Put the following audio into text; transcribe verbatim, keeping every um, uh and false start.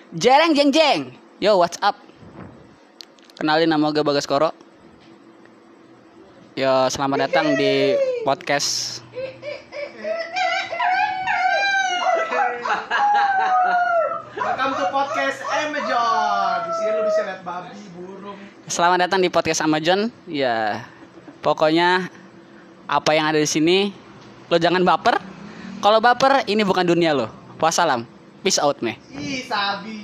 Jereng jeng jeng. Yo, what's up? Kenalin, nama gue Bagaskoro. Yo, selamat datang di podcast. Welcome to podcast Amazon. Di sini lu bisa lihat babi, burung. Selamat datang di podcast Amazon. Ya, pokoknya apa yang ada di sini, lo jangan baper. Kalau baper, ini bukan dunia lo. Wassalam. Peace out, meh. Ih, sabi.